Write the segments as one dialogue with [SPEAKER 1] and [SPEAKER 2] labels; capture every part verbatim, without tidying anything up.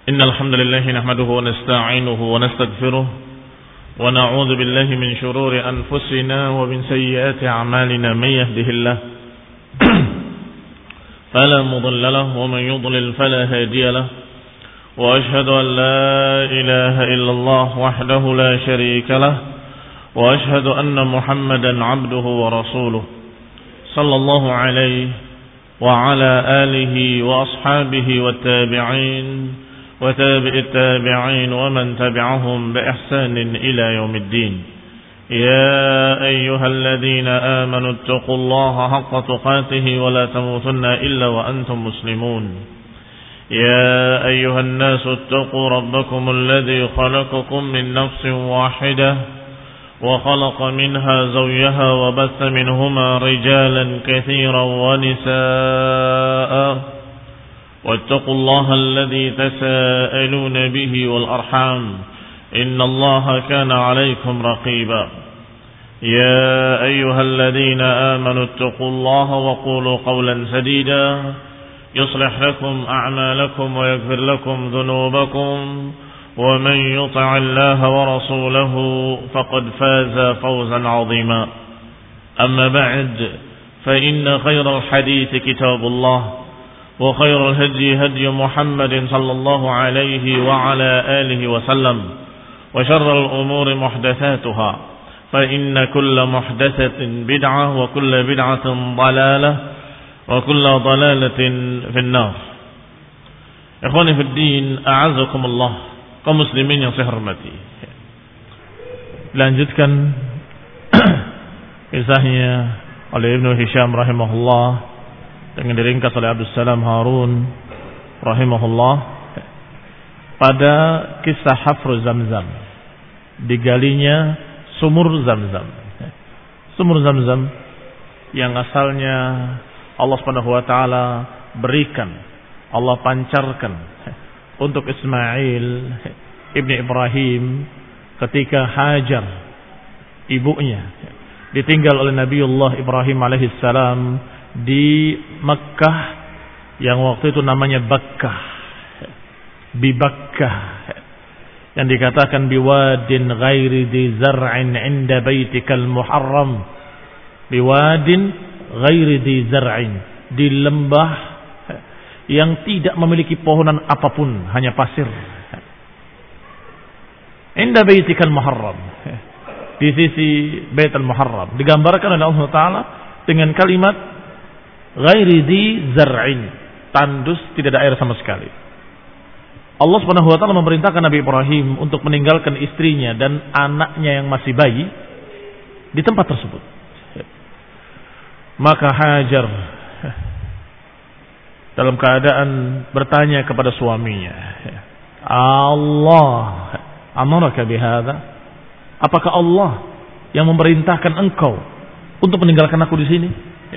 [SPEAKER 1] إن الحمد لله نحمده ونستعينه ونستغفره ونعوذ بالله من شرور أنفسنا ومن سيئات أعمالنا من يهده الله فلا مضل له ومن يضلل فلا هادي له وأشهد أن لا إله إلا الله وحده لا شريك له وأشهد أن محمدا عبده ورسوله صلى الله عليه وعلى آله وأصحابه والتابعين وتابع التابعين ومن تبعهم بإحسان إلى يوم الدين. يا أيها الذين آمنوا اتقوا الله حق تقاته ولا تموتن إلا وأنتم مسلمون. يا أيها الناس اتقوا ربكم الذي خلقكم من نفس واحدة وخلق منها زوجها وبث منهما رجالا كثيرا ونساء واتقوا الله الذي تساءلون به والأرحام إن الله كان عليكم رقيبا. يا أيها الذين آمنوا اتقوا الله وقولوا قولا سديدا يصلح لكم أعمالكم ويغفر لكم ذنوبكم ومن يطع الله ورسوله فقد فاز فوزا عظيما. أما بعد فإن خير الحديث كتاب الله وخير الهدي هدي محمد صلى الله عليه وعلى آله وسلم وشر الأمور محدثاتها فإن كل محدثة بدعة وكل بدعة ضلالة وكل ضلالة في النار. إخواني في الدين أعزكم الله kaum muslimin yang saya hormati. Lanjutkan kisahnya oleh Ibnu Hisham rahimahullah dengan diringkas oleh Abdus Salam Harun rahimahullah pada kisah hafru Zamzam, digalinya sumur Zamzam. Sumur Zamzam yang asalnya Allah Subhanahu wa taala berikan, Allah pancarkan untuk Ismail ibni Ibrahim ketika Hajar ibunya ditinggal oleh Nabiullah Ibrahim alaihissalam di Mekkah yang waktu itu namanya Bakkah, bi Bakkah, yang dikatakan biwadin ghairi di zar'in inda baitikal muharram, biwadin ghairi di zar'in, di lembah yang tidak memiliki pohonan apapun, hanya pasir. Inda baitikal muharram, di sisi Baitul Muharram, digambarkan oleh Allah Taala dengan kalimat ghairi di zar'in, tandus, tidak ada air sama sekali. Allah Subhanahu wa taala memerintahkan Nabi Ibrahim untuk meninggalkan istrinya dan anaknya yang masih bayi di tempat tersebut. Maka Hajar dalam keadaan bertanya kepada suaminya, Allah amaraka bihadza? Apakah Allah yang memerintahkan engkau untuk meninggalkan aku di sini?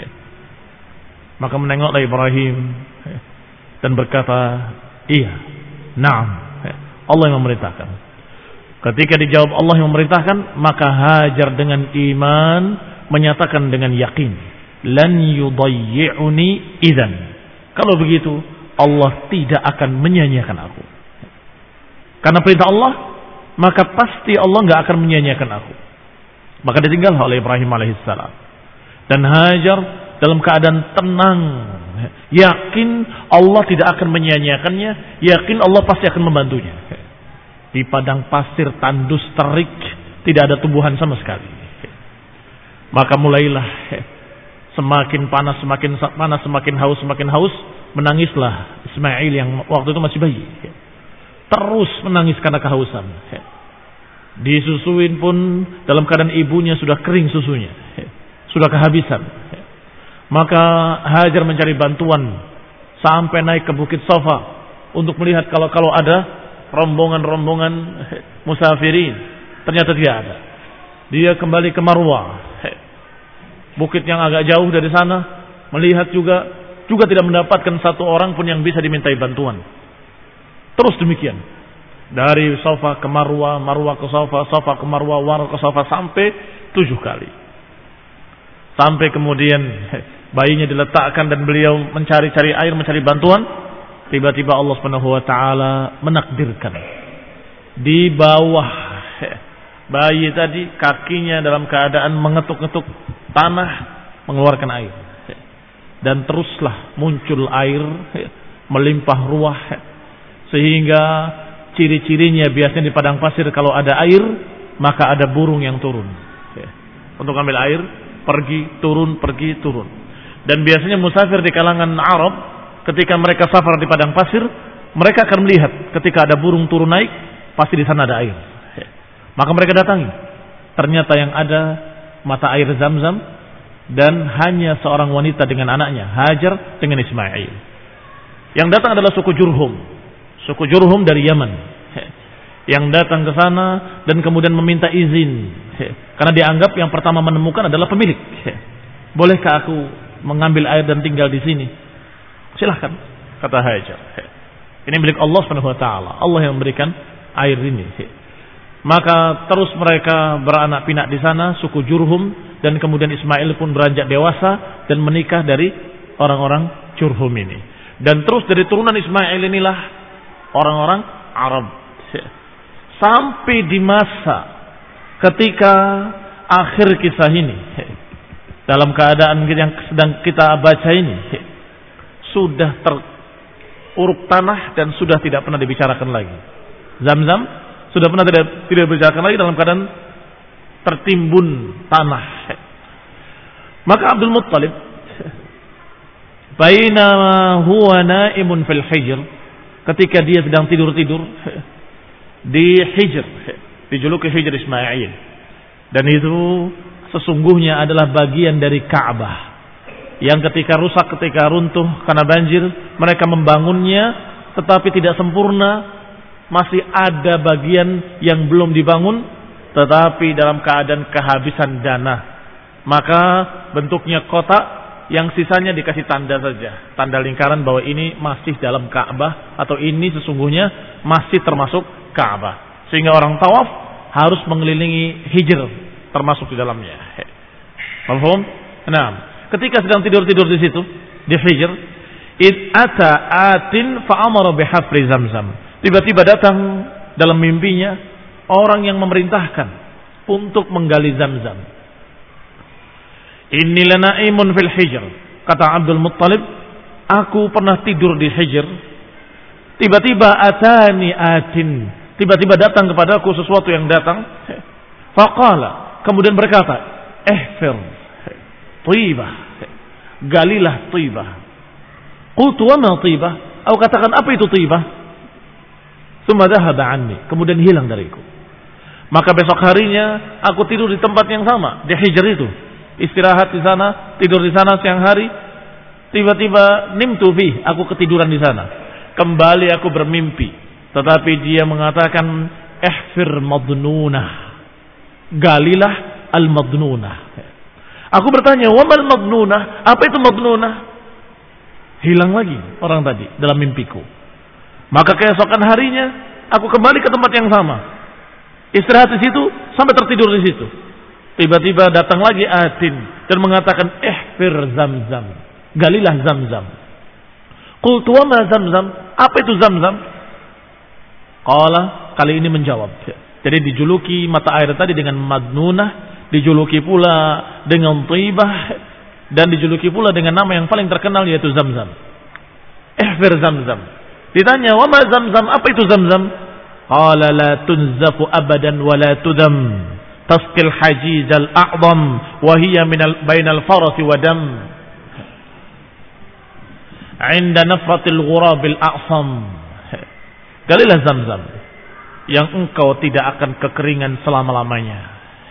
[SPEAKER 1] Maka menengoklah Ibrahim dan berkata, iya, na'am, Allah yang memerintahkan. Ketika dijawab Allah yang memerintahkan, maka Hajar dengan iman menyatakan dengan yakin, lan yudayyi'uni idzan. Kalau begitu, Allah tidak akan menyia-nyiakan aku. Karena perintah Allah, maka pasti Allah nggak akan menyia-nyiakan aku. Maka ditinggal oleh Ibrahim alaihissalam. Dan Hajar dalam keadaan tenang, yakin Allah tidak akan menyia-nyiakannya, yakin Allah pasti akan membantunya. Di padang pasir tandus terik, tidak ada tumbuhan sama sekali. Maka mulailah semakin panas, semakin panas, semakin haus, semakin haus, menangislah Ismail yang waktu itu masih bayi. Terus menangis karena kehausan. Disusuin pun dalam keadaan ibunya sudah kering susunya, sudah kehabisan. Maka Hajar mencari bantuan sampai naik ke Bukit Safa untuk melihat kalau kalau ada rombongan-rombongan musafirin. Ternyata tidak ada. Dia kembali ke Marwah, bukit yang agak jauh dari sana, melihat juga juga tidak mendapatkan satu orang pun yang bisa dimintai bantuan. Terus demikian, dari Safa ke Marwah, Marwah ke Safa, Safa ke Marwah, Marwah ke Safa, sampai tujuh kali. Sampai kemudian bayinya diletakkan dan beliau mencari-cari air, mencari bantuan. tiba-tiba Allah Subhanahu wa taala menakdirkan di bawah bayi tadi kakinya dalam keadaan mengetuk-ngetuk tanah mengeluarkan air. Dan teruslah muncul air melimpah ruah sehingga ciri-cirinya biasanya di padang pasir kalau ada air maka ada burung yang turun untuk ambil air, pergi turun pergi turun. Dan biasanya musafir di kalangan Arab ketika mereka safar di padang pasir mereka akan melihat ketika ada burung turun naik pasti di sana ada air. Maka mereka datangi. Ternyata yang ada mata air Zam-Zam dan hanya seorang wanita dengan anaknya Hajar dengan Ismail. Yang datang adalah suku Jurhum. Suku Jurhum dari Yaman. Yang datang ke sana dan kemudian meminta izin. Karena dianggap yang pertama menemukan adalah pemilik. Bolehkah aku mengambil air dan tinggal di sini? Silahkan, kata Hajar. Ini milik Allah Subhanahu wa taala. Allah yang memberikan air ini. Maka terus mereka beranak pinak di sana, suku Jurhum, dan kemudian Ismail pun beranjak dewasa dan menikah dari orang-orang Jurhum ini. Dan terus dari turunan Ismail inilah orang-orang Arab. Sampai di masa ketika akhir kisah ini, dalam keadaan yang sedang kita baca ini, sudah teruruk tanah dan sudah tidak pernah dibicarakan lagi. Zam-Zam sudah pernah tidak tidak dibicarakan lagi dalam keadaan tertimbun tanah. Maka Abdul Muttalib bainama huwa naimun fil hijr, ketika dia sedang tidur-tidur di Hijr, dijuluki Hijr Ismail, dan itu sesungguhnya adalah bagian dari Ka'bah yang ketika rusak, ketika runtuh karena banjir, mereka membangunnya tetapi tidak sempurna, masih ada bagian yang belum dibangun tetapi dalam keadaan kehabisan dana. Maka bentuknya kotak yang sisanya dikasih tanda saja, tanda lingkaran bahwa ini masih dalam Ka'bah atau ini sesungguhnya masih termasuk Ka'bah, sehingga orang tawaf harus mengelilingi Hijr termasuk di dalamnya. Paham? Nah, ketika sedang tidur-tidur di situ di Hijr, id ata atin fa amara bihafri Zamzam. Tiba-tiba datang dalam mimpinya orang yang memerintahkan untuk menggali Zamzam. Inni lanaimun fil Hijr, kata Abdul Muttalib, aku pernah tidur di Hijr. Tiba-tiba atani atin, tiba-tiba datang kepadaku sesuatu yang datang. Faqala, kemudian berkata, ihfir Tibah, galilah Tibah. Qultu wa ma Tibah? Aku katakan, apa itu Tibah? Tsumma dhahaba anni, kemudian hilang dariku. Maka besok harinya aku tidur di tempat yang sama, di Hijr itu. Istirahat di sana, tidur di sana siang hari. Tiba-tiba nimtu fi, aku ketiduran di sana. Kembali aku bermimpi, tetapi dia mengatakan ihfir madnunah, galilah al-madnunah. Aku bertanya, wa mal madnunah? Apa itu madnunah? Hilang lagi orang tadi dalam mimpiku. Maka keesokan harinya aku kembali ke tempat yang sama, istirahat di situ sampai tertidur di situ. Tiba-tiba datang lagi atin dan mengatakan ihfir Zamzam, galilah Zamzam. Qultu wa ma Zamzam? Apa itu Zamzam? Qala, kali ini menjawab. Jadi dijuluki mata air tadi dengan madnunah, dijuluki pula dengan Tibah, dan dijuluki pula dengan nama yang paling terkenal yaitu Zamzam. Ihfir Zamzam. Ditanya, wa ma Zamzam? Apa itu Zamzam? Qala la tunzafu abadan wa la tudam, tasqil hajiz al-a'zam wa hiya min bainal farasi wa dam, 'inda nafratil ghurabil a'sam. Galilah Zamzam yang engkau tidak akan kekeringan selama-lamanya.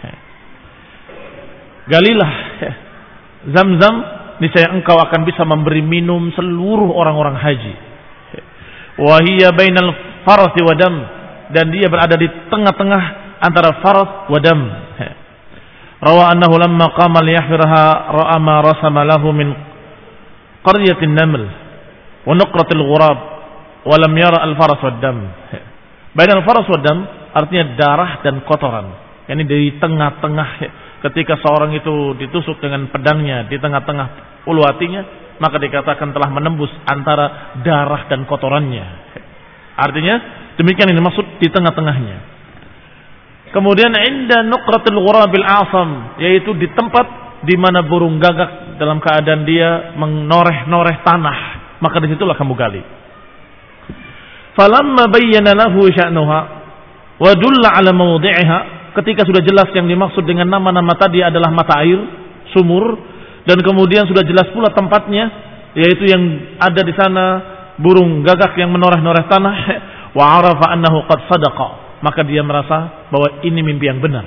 [SPEAKER 1] Galilah Zamzam, niscaya engkau akan bisa memberi minum seluruh orang-orang haji. Wa hiya bainal farasi wa dam, dan dia berada di tengah-tengah antara faras wa dam. Rawa annahu lamma qama liyahfirha ra'a ma rasama lahu min qaryatin naml wa nuqratil ghurab wa lam yara al-faras wad dam. Bainal faras wad dam artinya darah dan kotoran. Yani di tengah-tengah, ketika seorang itu ditusuk dengan pedangnya di tengah-tengah ulu hatinya, maka dikatakan telah menembus antara darah dan kotorannya. Artinya demikian ini maksud di tengah-tengahnya. Kemudian inda nuqratil ghurabil asam, yaitu di tempat di mana burung gagak dalam keadaan dia menoreh-noreh tanah, maka disitulah kamu gali. Falamma bayyana lahu sya'nuha wa dulla ala mawdi'iha, ketika sudah jelas yang dimaksud dengan nama-nama tadi adalah mata air, sumur, dan kemudian sudah jelas pula tempatnya, yaitu yang ada di sana burung gagak yang menoreh-noreh tanah, wa arafa annahu qad sadaqa, maka dia merasa bahwa ini mimpi yang benar.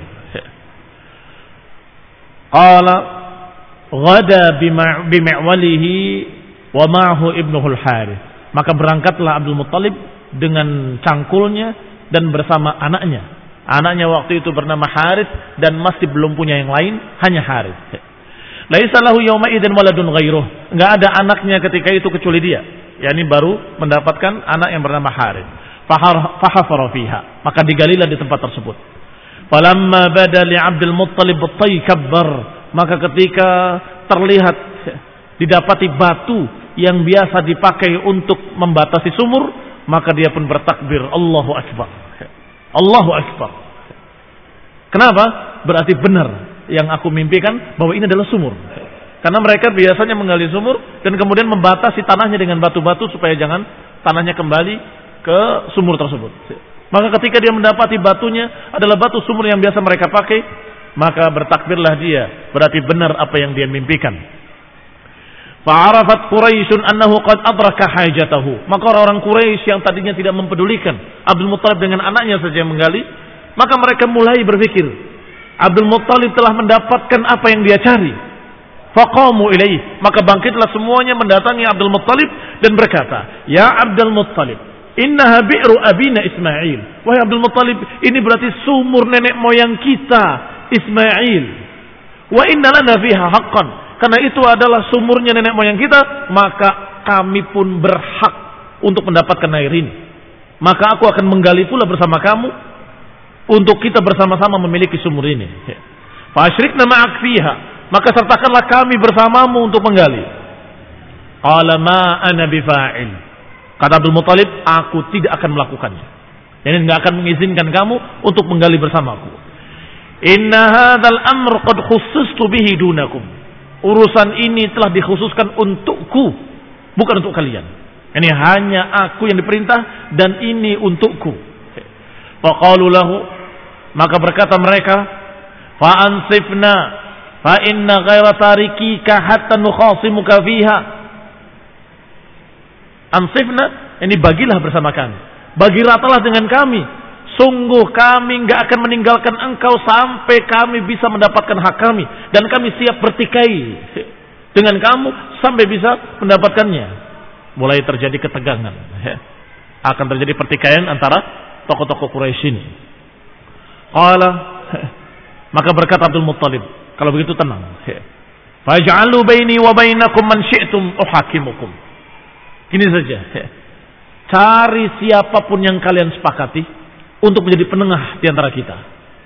[SPEAKER 1] Qala ghada bimi'walihi wa ma'ahu ibnuhu al-Harith, maka berangkatlah Abdul Muttalib dengan cangkulnya dan bersama anaknya. Anaknya waktu itu bernama Harith dan masih belum punya yang lain, hanya Harith. Laisa lahu yawma idzin waladun ghairuh, enggak ada anaknya ketika itu kecuali dia. yakni baru mendapatkan anak yang bernama Harith. Fahafara fiha, maka digalilah di tempat tersebut. Falamma bada li Abdul Muttalib at-taykabbar, maka ketika terlihat didapati batu yang biasa dipakai untuk membatasi sumur, maka dia pun bertakbir, Allahu Akbar. Allahu Akbar. Kenapa? Berarti benar yang aku mimpikan bahwa ini adalah sumur. Karena mereka biasanya menggali sumur dan kemudian membatasi tanahnya dengan batu-batu supaya jangan tanahnya kembali ke sumur tersebut. Maka ketika dia mendapati batunya adalah batu sumur yang biasa mereka pakai, maka bertakbirlah dia, berarti benar apa yang dia mimpikan. Fa'arafat Quraisyun annahu qad adraka hajatahu. Maka orang-orang Quraisy yang tadinya tidak mempedulikan Abdul Muttalib dengan anaknya saja yang menggali, maka mereka mulai berpikir, Abdul Muttalib telah mendapatkan apa yang dia cari. Faqamu ilaih, maka bangkitlah semuanya mendatangi Abdul Muttalib dan berkata, Ya Abdul Muttalib, innaha bi'ru abina Ismail. Wahai Abdul Muttalib, ini berarti sumur nenek moyang kita Ismail. Wa inna lana fiha haqqan, karena itu adalah sumurnya nenek moyang kita, maka kami pun berhak untuk mendapatkan air ini. Maka aku akan menggali pula bersama kamu untuk kita bersama-sama memiliki sumur ini. Fa asyrikna ma'ak fiha, maka sertakanlah kami bersamamu untuk menggali. Qala ma ana bifa'il, kata Abdul Muttalib, aku tidak akan melakukannya. Jadi tidak akan mengizinkan kamu untuk menggali bersamaku. Inna hadzal amr qad khussistu bihi dunakum. Urusan ini telah dikhususkan untukku, bukan untuk kalian. Ini hanya aku yang diperintah dan ini untukku. Faqalu lahu, maka berkata mereka, fa ansifna fa inna ghaira tarikika hatta nukhasimuka fiha. Ansifna, ini bagilah bersama kami. Bagi ratalah dengan kami. Sungguh kami enggak akan meninggalkan engkau sampai kami bisa mendapatkan hak kami. Dan kami siap bertikai dengan kamu sampai bisa mendapatkannya. Mulai terjadi ketegangan. Akan terjadi pertikaian antara tokoh-tokoh Quraisy ini. Qala, maka berkata Abdul Muttalib, kalau begitu tenang. Faj'alu baini wa bainakum man syi'tum uhakimukum. Ini saja. Cari siapapun yang kalian sepakati untuk menjadi penengah di antara kita.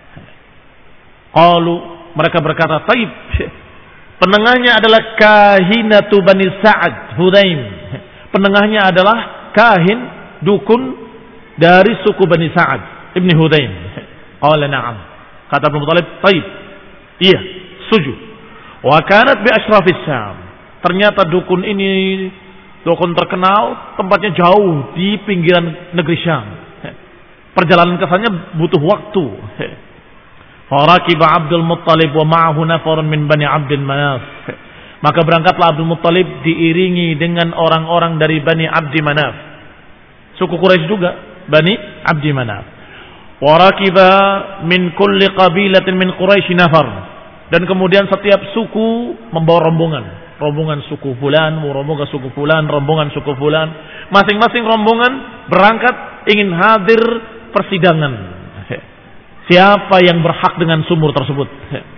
[SPEAKER 1] Qalu, mereka berkata, taib. Penengahnya adalah kahinatu Bani Sa'ad Hudaim. Penengahnya adalah kahin, dukun dari suku Bani Sa'ad Ibni Hudaim. Qala na'am. Kata Abu Thalib, taib. Iya, setuju. Wa kanat bi ashrafis Syam. Ternyata dukun ini dukun terkenal, tempatnya jauh di pinggiran negeri Syam. Perjalanan ke sana butuh waktu. Farakiba Abdul Muttalib wa ma'ahu nafarun min Bani Abdin Manaf. Maka berangkatlah Abdul Muttalib diiringi dengan orang-orang dari Bani Abdi Manaf. Suku Quraisy juga, Bani Abdi Manaf. Warakiba min kulli qabilatin min Quraisy nafar. Dan kemudian setiap suku membawa rombongan. Rombongan suku fulan, rombongan suku fulan, rombongan suku fulan. Masing-masing rombongan berangkat ingin hadir persidangan. Siapa yang berhak dengan sumur tersebut?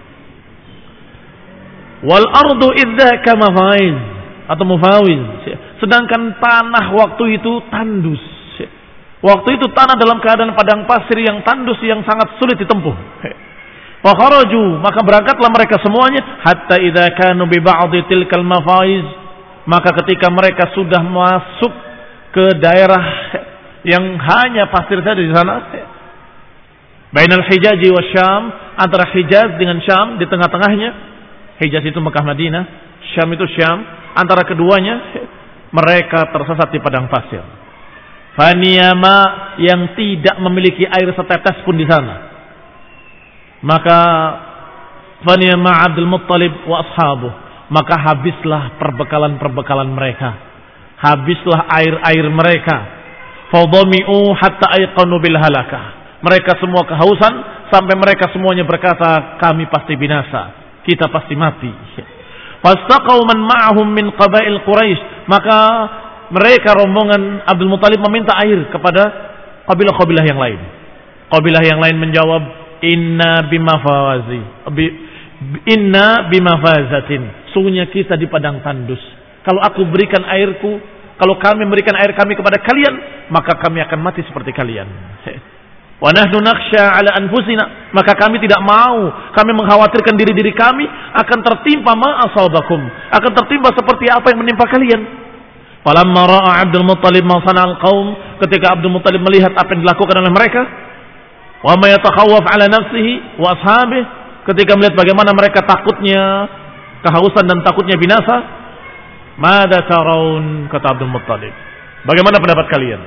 [SPEAKER 1] Wal ardu idzaka mafaiz atau mufawiz. Sedangkan tanah waktu itu tandus. Waktu itu tanah dalam keadaan padang pasir yang tandus yang sangat sulit ditempuh. Fa kharaju, maka berangkatlah mereka semuanya hatta idza kanu bi ba'dhi tilkal mafaiz maka ketika mereka sudah masuk ke daerah yang hanya pasir saja di sana, bainal Hijaz wa Syam, antara Hijaz dengan Syam, di tengah-tengahnya, Hijaz itu Mekah Madinah, Syam itu Syam, antara keduanya mereka tersesat di padang pasir. Faniyama, yang tidak memiliki air setetes pun di sana. Maka faniyama Abdul Muttalib wa ashabuh, maka habislah perbekalan-perbekalan mereka, habislah air-air mereka. Fadhami'u hatta ayqanu bil halakah, mereka semua kehausan sampai mereka semuanya berkata, kami pasti binasa, kita pasti mati. Fastaqau man ma'ahum min qabail Quraisy, maka mereka rombongan Abdul Muthalib meminta air kepada kabilah-kabilah yang lain. Kabilah yang lain menjawab, inna bimafazi, inna bimafazatin, sungguhnya kita di padang tandus. Kalau aku berikan airku, kalau kami memberikan air kami kepada kalian, maka kami akan mati seperti kalian. Wa nahnu nakhsha ala anfusina, maka kami tidak mau, kami mengkhawatirkan diri-diri kami akan tertimpa ma asabakum, akan tertimpa seperti apa yang menimpa kalian. Falamma ra'a Abdul Muttalib ma sana'al qaum, ketika Abdul Muttalib melihat apa yang dilakukan oleh mereka, wa ma yatakhawwaf ala nafsihi wa ashabihi, ketika melihat bagaimana mereka takutnya kehausan dan takutnya binasa, mada taraun, kata Abdul Muttalib, bagaimana pendapat kalian?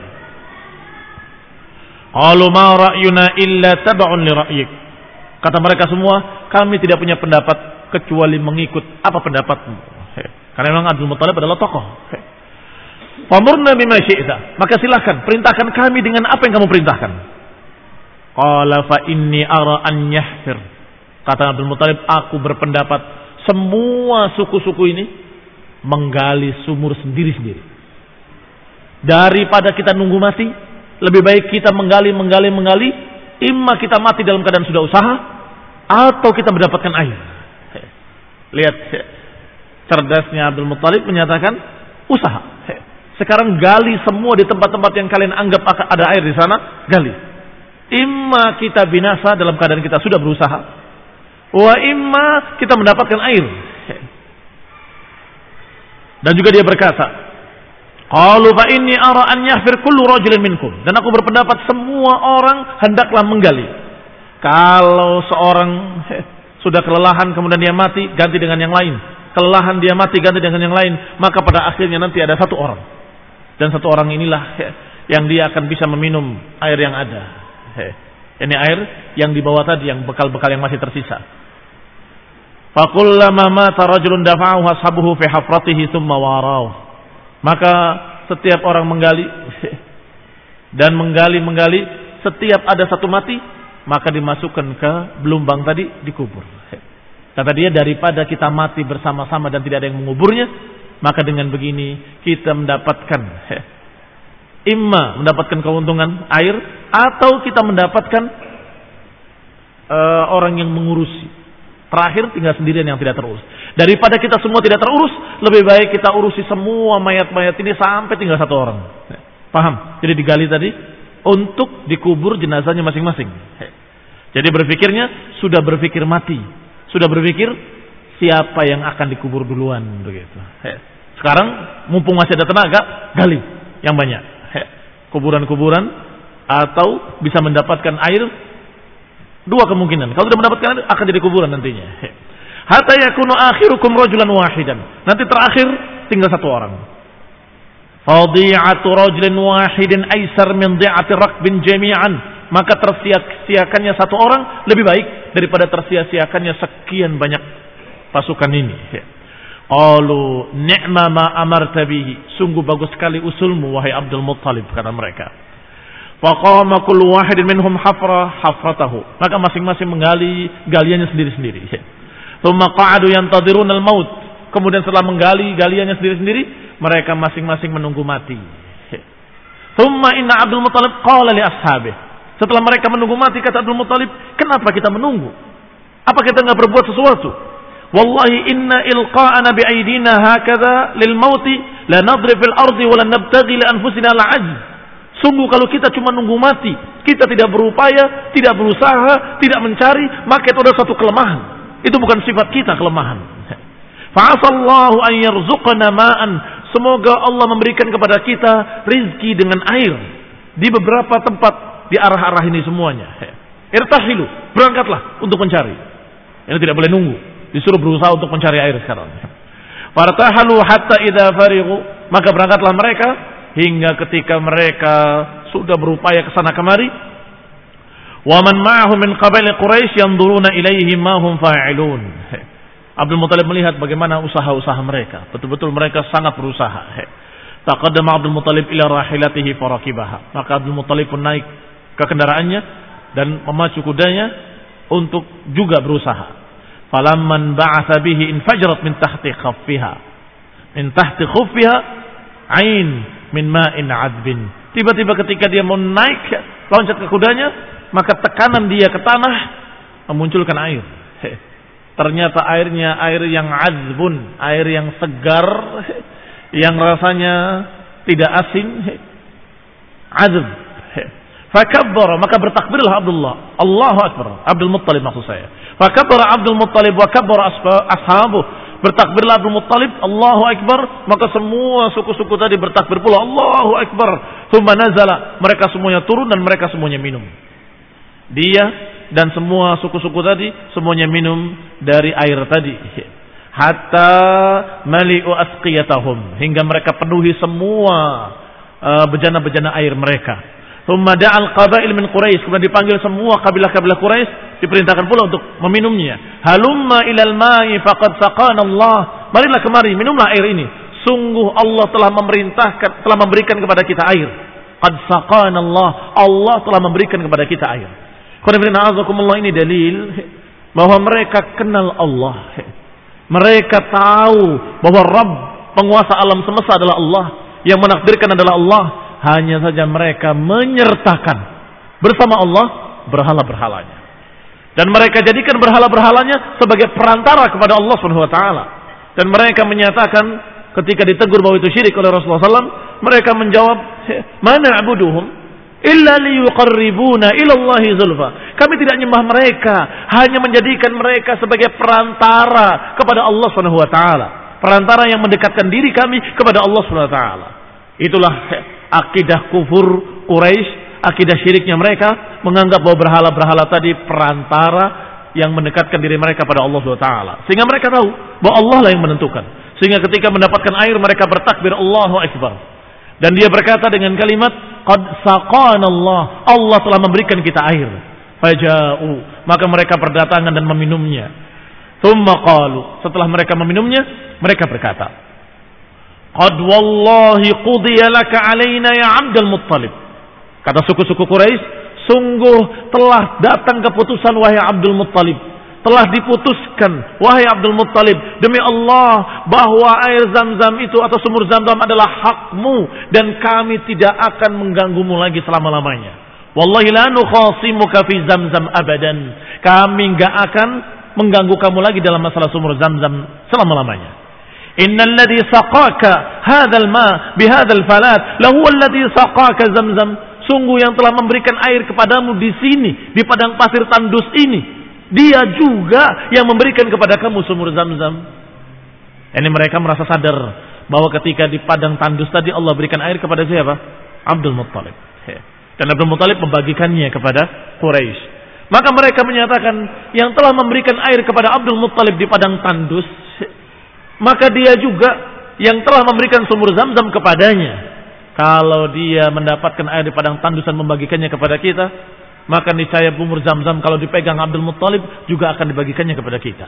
[SPEAKER 1] Qalu ma ra'yuna illa tab'un li ra'yik, kata mereka semua, kami tidak punya pendapat kecuali mengikut apa pendapatmu. Karena memang Abdul Muttalib adalah tokoh. Famurna bima syi'ta, maka silakan perintahkan kami dengan apa yang kamu perintahkan. Qala fa inni ara an yahfir, kata Abdul Muttalib, aku berpendapat semua suku-suku ini menggali sumur sendiri-sendiri. Daripada kita nunggu mati, lebih baik kita menggali, menggali, menggali. Imma kita mati dalam keadaan sudah usaha, atau kita mendapatkan air. Lihat, cerdasnya Abdul Muttalib menyatakan usaha. Sekarang gali semua di tempat-tempat yang kalian anggap ada air di sana, gali. Imma kita binasa dalam keadaan kita sudah berusaha, wa imma kita mendapatkan air. Dan juga dia berkata, qalu fa inni ara an yahfir kullu rajulin minkum, dan aku berpendapat semua orang hendaklah menggali. Kalau seorang sudah kelelahan kemudian dia mati, ganti dengan yang lain. Kelelahan dia mati, ganti dengan yang lain, maka pada akhirnya nanti ada satu orang, dan satu orang inilah yang dia akan bisa meminum air yang ada. Ini air yang dibawa tadi, yang bekal-bekal yang masih tersisa. Fakullama mata rajulun dafa'ahu ashabuhu fi hafratihi thumma warau, maka setiap orang menggali dan menggali-menggali, setiap ada satu mati, maka dimasukkan ke belumbang tadi, dikubur. Kata dia, daripada kita mati bersama-sama dan tidak ada yang menguburnya, maka dengan begini kita mendapatkan imma mendapatkan keuntungan air, atau kita mendapatkan uh, orang yang mengurusi. Terakhir tinggal sendirian yang tidak terurus. Daripada kita semua tidak terurus, lebih baik kita urusi semua mayat-mayat ini sampai tinggal satu orang. Paham? Jadi digali tadi untuk dikubur jenazahnya masing-masing. Jadi berpikirnya sudah berpikir mati, sudah berpikir siapa yang akan dikubur duluan begitu. Sekarang mumpung masih ada tenaga, gali yang banyak. Kuburan-kuburan, atau bisa mendapatkan air. Dua kemungkinan. Kalau tidak mendapatkan air, akan jadi kuburan nantinya. Hatta yakunu akhirukum rajulan wahidan. Nanti terakhir tinggal satu orang. Fadhi'atu rajulin wahidin aisar min dhi'ati rakbin jami'an. Maka tersia-siakannya satu orang lebih baik daripada tersia-siakannya sekian banyak pasukan ini. Qalu ni'ma ma amarta bihi, sungguh bagus sekali usulmu wahai Abdul Muttalib, kata mereka. Faqama kullu wahidin minhum hafra hafratahu, maka masing-masing menggali galiannya sendiri-sendiri. Tsumma qa'adu yantadhiruna al-maut, kemudian setelah menggali galiannya sendiri-sendiri, mereka masing-masing menunggu mati. Tsumma inna Abdul Muttalib qala li ashabihi, setelah mereka menunggu mati, kata Abdul Muttalib, kenapa kita menunggu? Apa kita enggak berbuat sesuatu? Wallahi inna ilqa'ana bi'aidina hakadha lil mauti la nadri fil ardi wa la nabtaghi li anfusina al-'ajz. Sungguh kalau kita cuma nunggu mati, kita tidak berupaya, tidak berusaha, tidak mencari, maka itu adalah satu kelemahan. Itu bukan sifat kita, kelemahan. Fa'asallahu an yarzuqana ma'an. Semoga Allah memberikan kepada kita rizki dengan air di beberapa tempat di arah-arah ini semuanya. Irtahilu, berangkatlah untuk mencari. Ini tidak boleh nunggu, disuruh berusaha untuk mencari air sekarang. Fartahalu hatta idza farighu, maka berangkatlah mereka hingga ketika mereka sudah berupaya ke sana kemari. Wa man ma'ahu min qabail Quraisy yanzuruna ilaihim ma hum fa'ilun. Abdul Muthalib melihat bagaimana usaha-usaha mereka. Betul-betul mereka sangat berusaha. Taqaddama Abdul Muthalib ila rahilatihi farakibaha. Maka Abdul Muthalib pun naik ke kendaraannya dan memacu kudanya untuk juga berusaha. Falamman ba'atha bihi infajrat min tahti khaffiha. Min tahti khuffiha ain min ma'in 'adbin. Tiba-tiba ketika dia mau naik loncat ke kudanya, maka tekanan dia ke tanah memunculkan air. Ternyata airnya air yang azbun, air yang segar, yang rasanya tidak asin. Azb. Fakabbara, maka bertakbirlah Abdullah. Allahu Akbar. Abdul Muttalib maksud saya. Fakabbara Abdul Muttalib wa kabbara ashabuh. Bertakbirlah Abdul Muttalib, Allahu Akbar, maka semua suku-suku tadi bertakbir pula, Allahu Akbar. Tsumma nazala, mereka semuanya turun dan mereka semuanya minum. Dia dan semua suku-suku tadi semuanya minum dari air tadi. Hatta mali'u asqiyatahum, hingga mereka penuhi semua uh, bejana-bejana air mereka. Tsumma da'al qabail min Quraisy, kemudian dipanggil semua kabilah-kabilah Quraisy, diperintahkan pula untuk meminumnya. Halumma ilal ma'i faqad saqana Allah. Marilah kemari, minumlah air ini. Sungguh Allah telah memerintahkan, telah memberikan kepada kita air. Qad saqana Allah. Allah telah memberikan kepada kita air. Qul ini dalil bahwa mereka kenal Allah. Mereka tahu bahwa Rabb, penguasa alam semesta adalah Allah, yang menakdirkan adalah Allah. Hanya saja mereka menyertakan bersama Allah berhala-berhalanya. Dan mereka jadikan berhala-berhalanya sebagai perantara kepada Allah Subhanahu wa taala. Dan mereka menyatakan ketika ditegur bahwa itu syirik oleh Rasulullah sallallahu alaihi wasallam, mereka menjawab, "Mana abuduhum illa liyuqarribuna ila Allahi zulfa." Kami tidak nyembah mereka, hanya menjadikan mereka sebagai perantara kepada Allah Subhanahu wa taala. Perantara yang mendekatkan diri kami kepada Allah Subhanahu wa taala. Itulah akidah kufur Quraisy, akidah syiriknya mereka, menganggap bahwa berhala-berhala tadi perantara yang mendekatkan diri mereka pada Allah subhanahu wa taala. Sehingga mereka tahu bahwa Allah lah yang menentukan. Sehingga ketika mendapatkan air mereka bertakbir Allahu Akbar. Dan dia berkata dengan kalimat qad saqana Allah, Allah telah memberikan kita air. Faja'u, maka mereka berdatangan dan meminumnya. Tsumma qalu, setelah mereka meminumnya, mereka berkata, qad wallahi qudiya laka alaina ya Abdul Muttalib. Kata suku-suku Quraisy, sungguh telah datang keputusan wahai Abdul Muttalib. Telah diputuskan wahai Abdul Muttalib, demi Allah bahwa air Zam-Zam itu atau sumur Zam-Zam adalah hakmu dan kami tidak akan mengganggumu lagi selama-lamanya. Wallahi la nukhasimuka fi Zam-Zam abadan. Kami enggak akan mengganggu kamu lagi dalam masalah sumur Zam-Zam selama-lamanya. Innal ladzi saqaka hadzal ma bihadzal falat lahu alladzi saqaka Zamzam. Sungguh yang telah memberikan air kepadamu di sini, di padang pasir tandus ini, dia juga yang memberikan kepada kamu sumur Zamzam. Ini mereka merasa sadar bahwa ketika di padang tandus tadi Allah berikan air kepada siapa? Abdul Muttalib. Dan Abdul Muttalib membagikannya kepada Quraisy. Maka mereka menyatakan yang telah memberikan air kepada Abdul Muttalib di padang tandus, maka dia juga yang telah memberikan sumur Zam-Zam kepadanya. Kalau dia mendapatkan air di padang tandus dan membagikannya kepada kita, maka niscaya sumur Zam-Zam kalau dipegang Abdul Muttalib juga akan dibagikannya kepada kita.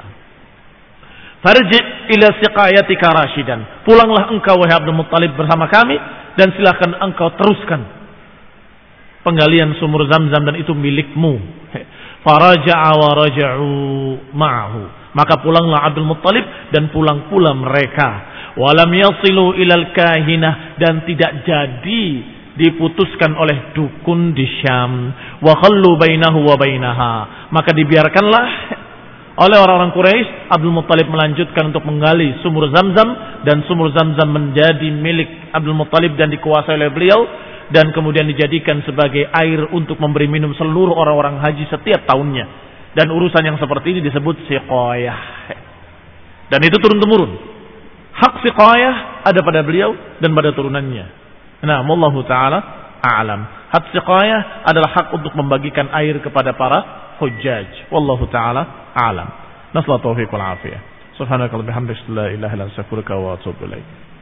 [SPEAKER 1] Farji' ila siqayatika rasyidan. Pulanglah engkau wahai Abdul Muttalib bersama kami dan silakan engkau teruskan penggalian sumur Zam-Zam dan itu milikmu. Faraja'a wa raja'u ma'ahu. Maka pulanglah Abdul Muttalib dan pulang pula mereka. Walam yasilu ilal kahinah, dan tidak jadi diputuskan oleh dukun di Syam. Wa khallu bainahu wa bainaha. Maka dibiarkanlah oleh orang-orang Quraisy Abdul Muttalib melanjutkan untuk menggali sumur Zam-Zam, dan sumur Zam-Zam menjadi milik Abdul Muttalib dan dikuasai oleh beliau, dan kemudian dijadikan sebagai air untuk memberi minum seluruh orang-orang haji setiap tahunnya. Dan urusan yang seperti ini disebut siqayah. Dan itu turun-temurun. Hak siqayah ada pada beliau dan pada turunannya. Nah, wallahu taala a'lam. Hak siqayah adalah hak untuk membagikan air kepada para hujjaj. Wallahu taala a'lam. Nasallahu taufiq wal afiyah. Subhanakallahumma bihamdika la ilaha illa anta astaghfiruka wa atubu ilaik.